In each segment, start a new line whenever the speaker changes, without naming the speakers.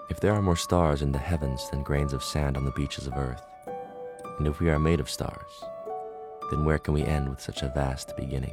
If there are more stars in the heavens than grains of sand on the beaches of earth, and if we are made of stars, then where can we end with such a vast beginning?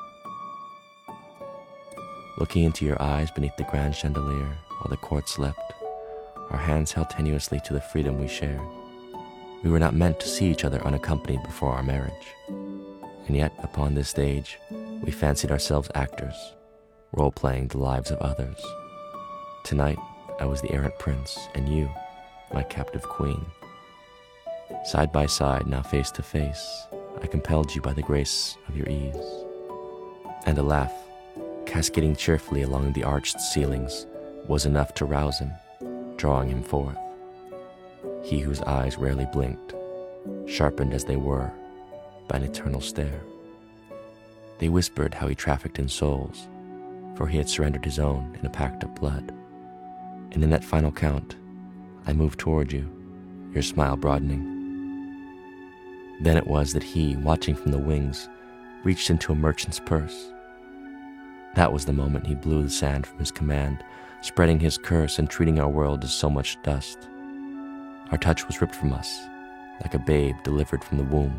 Looking into your eyes beneath the grand chandelier while the court slept, our hands held tenuously to the freedom we shared. We were not meant to see each other unaccompanied before our marriage. And yet, upon this stage, we fancied ourselves actors, role-playing the lives of others. Tonight, I was the errant prince, and you, my captive queen. Side by side, now face to face, I compelled you by the grace of your ease. And a laugh, cascading cheerfully along the arched ceilings, was enough to rouse him, drawing him forth. He whose eyes rarely blinked, sharpened as they were by an eternal stare. They whispered how he trafficked in souls, for he had surrendered his own in a pact of blood. And in that final count, I moved toward you, your smile broadening. Then it was that he, watching from the wings, reached into a merchant's purse. That was the moment he blew the sand from his command, spreading his curse and treating our world as so much dust. Our touch was ripped from us, like a babe delivered from the womb.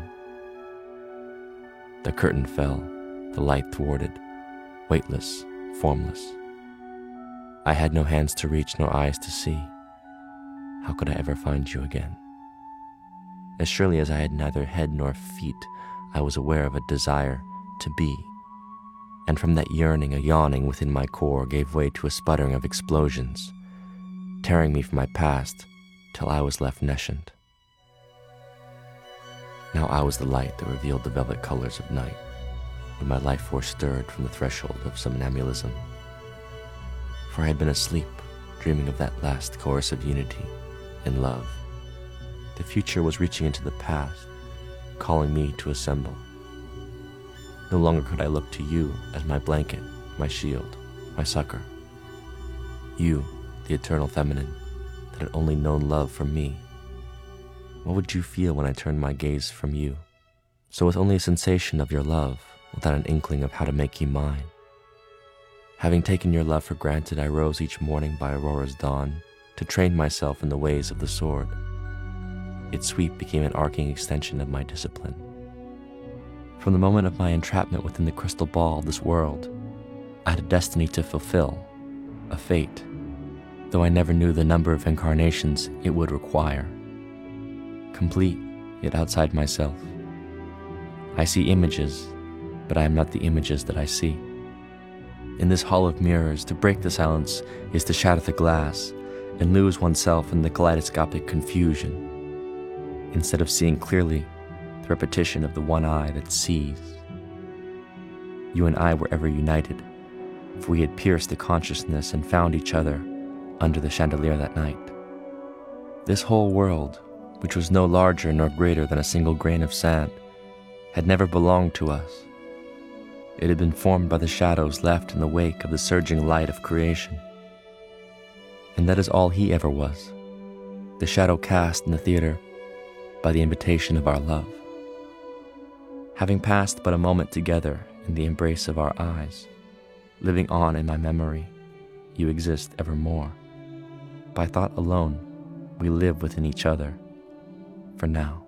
The curtain fell, the light thwarted, weightless, formless. I had no hands to reach nor eyes to see. How could I ever find you again? As surely as I had neither head nor feet, I was aware of a desire to be. And from that yearning, a yawning within my core gave way to a sputtering of explosions, tearing me from my past till I was left nescient. Now I was the light that revealed the velvet colors of night, when my life force stirred from the threshold of somnambulism. For I had been asleep, dreaming of that last coercive unity in love. The future was reaching into the past, calling me to assemble. No longer could I look to you as my blanket, my shield, my succor. You, the eternal feminine, that had only known love from me. What would you feel when I turned my gaze from you? So with only a sensation of your love, without an inkling of how to make you mine. Having taken your love for granted, I rose each morning by aurora's dawn to train myself in the ways of the sword. Its sweep became an arcing extension of my discipline. From the moment of my entrapment within the crystal ball of this world, I had a destiny to fulfill, a fate, though I never knew the number of incarnations it would require. Complete, yet outside myself. I see images, but I am not the images that I see. In this hall of mirrors, to break the silence is to shatter the glass and lose oneself in the kaleidoscopic confusion, instead of seeing clearly the repetition of the one eye that sees. You and I were ever united, for we had pierced the consciousness and found each other under the chandelier that night. This whole world, which was no larger nor greater than a single grain of sand, had never belonged to us. It had been formed by the shadows left in the wake of the surging light of creation. And that is all he ever was, the shadow cast in the theater by the invitation of our love. Having passed but a moment together in the embrace of our eyes, living on in my memory, you exist evermore. By thought alone, we live within each other, for now.